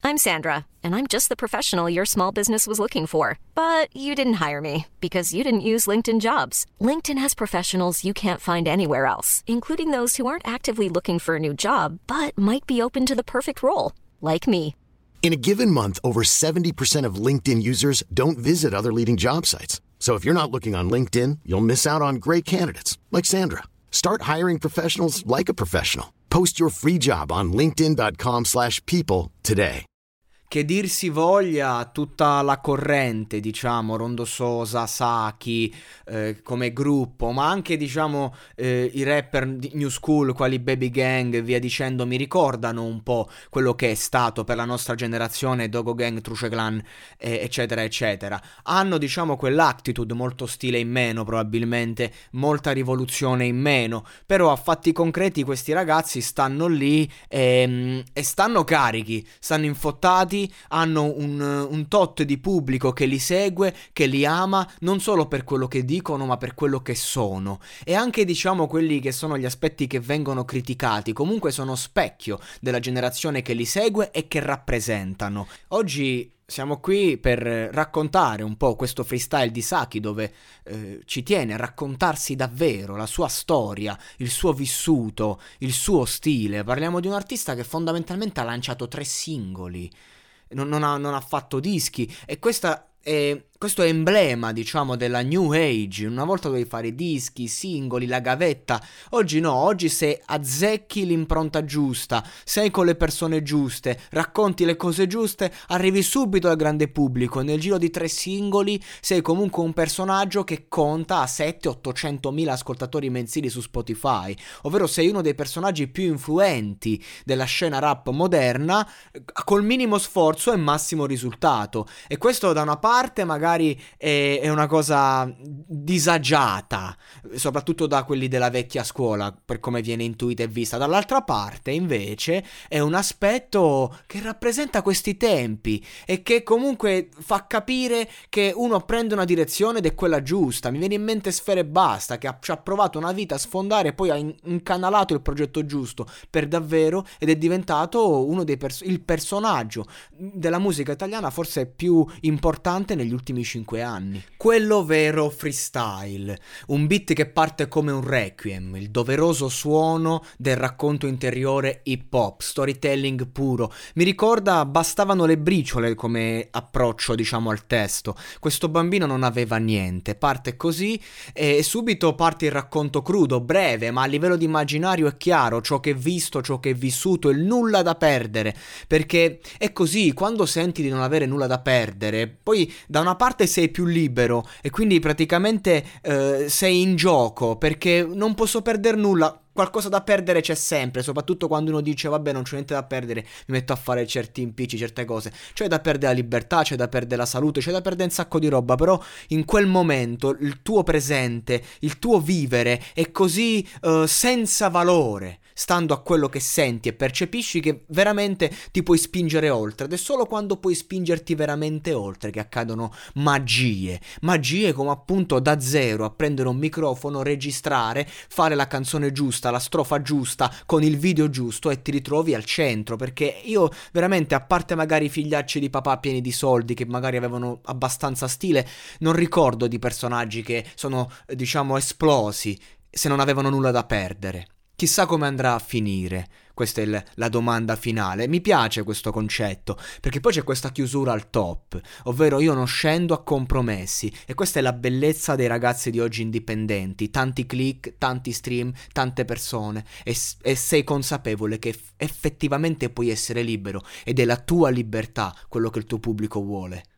I'm Sandra, and I'm just the professional your small business was looking for. But you didn't hire me because you didn't use LinkedIn Jobs. LinkedIn has professionals you can't find anywhere else, including those who aren't actively looking for a new job, but might be open to the perfect role, like me. In a given month, over 70% of LinkedIn users don't visit other leading job sites. So if you're not looking on LinkedIn, you'll miss out on great candidates like Sandra. Start hiring professionals like a professional. Post your free job on linkedin.com/people today. Che dir si voglia, tutta la corrente, diciamo, Rondo Sosa, Saki, come gruppo, ma anche, diciamo, i rapper di New School, quali Baby Gang e via dicendo, mi ricordano un po' quello che è stato per la nostra generazione Dogo Gang, Truce Clan, eccetera, eccetera. Hanno, diciamo, quell'attitude, molto stile in meno probabilmente, molta rivoluzione in meno, però a fatti concreti questi ragazzi stanno lì e stanno carichi, stanno infottati, hanno un tot di pubblico che li segue, che li ama, non solo per quello che dicono ma per quello che sono, e anche, diciamo, quelli che sono gli aspetti che vengono criticati comunque sono specchio della generazione che li segue e che rappresentano. Oggi siamo qui per raccontare un po' questo freestyle di Saki, dove ci tiene a raccontarsi davvero la sua storia, il suo vissuto, il suo stile. Parliamo di un artista che fondamentalmente ha lanciato 3 singoli, non ha fatto dischi, e questo è emblema, diciamo, della new age. Una volta dovevi fare dischi, singoli, la gavetta. Oggi no, oggi se azzecchi l'impronta giusta, sei con le persone giuste, racconti le cose giuste, arrivi subito al grande pubblico. Nel giro di 3 singoli sei comunque un personaggio che conta a 700-800 mila ascoltatori mensili su Spotify, ovvero sei uno dei personaggi più influenti della scena rap moderna, col minimo sforzo e massimo risultato. E questo da una parte magari è una cosa disagiata, soprattutto da quelli della vecchia scuola, per come viene intuita e vista. Dall'altra parte invece è un aspetto che rappresenta questi tempi e che comunque fa capire che uno prende una direzione ed è quella giusta. Mi viene in mente Sfera Ebbasta, che ci ha provato una vita a sfondare e poi ha incanalato il progetto giusto per davvero ed è diventato uno dei il personaggio della musica italiana forse più importante negli ultimi 5 anni. Quello vero freestyle, un beat che parte come un requiem, il doveroso suono del racconto interiore hip hop, storytelling puro. Mi ricorda Bastavano le briciole come approccio, diciamo, al testo. Questo bambino non aveva niente, parte così e subito parte il racconto crudo, breve, ma a livello di immaginario è chiaro, ciò che è visto, ciò che è vissuto, il nulla da perdere, perché è così, quando senti di non avere nulla da perdere, poi da una parte sei più libero e quindi praticamente sei in gioco, perché non posso perdere nulla. Qualcosa da perdere c'è sempre, soprattutto quando uno dice vabbè, non c'è niente da perdere, mi metto a fare certi impicci, certe cose. C'è da perdere la libertà, c'è da perdere la salute, c'è da perdere un sacco di roba, però in quel momento il tuo presente, il tuo vivere è così senza valore, stando a quello che senti e percepisci, che veramente ti puoi spingere oltre. Ed è solo quando puoi spingerti veramente oltre che accadono magie come appunto da zero a prendere un microfono, registrare, fare la canzone giusta, la strofa giusta, con il video giusto, e ti ritrovi al centro. Perché io veramente, a parte magari i figliacci di papà pieni di soldi che magari avevano abbastanza stile, non ricordo di personaggi che sono, diciamo, esplosi se non avevano nulla da perdere. Chissà come andrà a finire, questa è la domanda finale. Mi piace questo concetto, perché poi c'è questa chiusura al top, ovvero io non scendo a compromessi, e questa è la bellezza dei ragazzi di oggi indipendenti: tanti click, tanti stream, tante persone, e sei consapevole che effettivamente puoi essere libero, ed è la tua libertà quello che il tuo pubblico vuole.